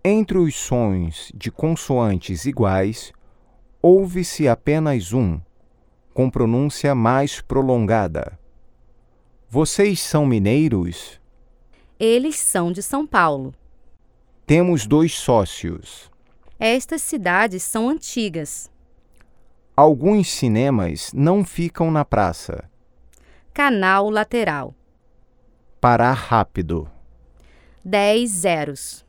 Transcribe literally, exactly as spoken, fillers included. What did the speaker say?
Entre os sons de consoantes iguais, ouve-se apenas um, com pronúncia mais prolongada. Vocês são mineiros? Eles são de São Paulo. Temos dois sócios. Estas cidades são antigas. Alguns cinemas não ficam na praça. Canal lateral. Parar rápido. Dez zeros.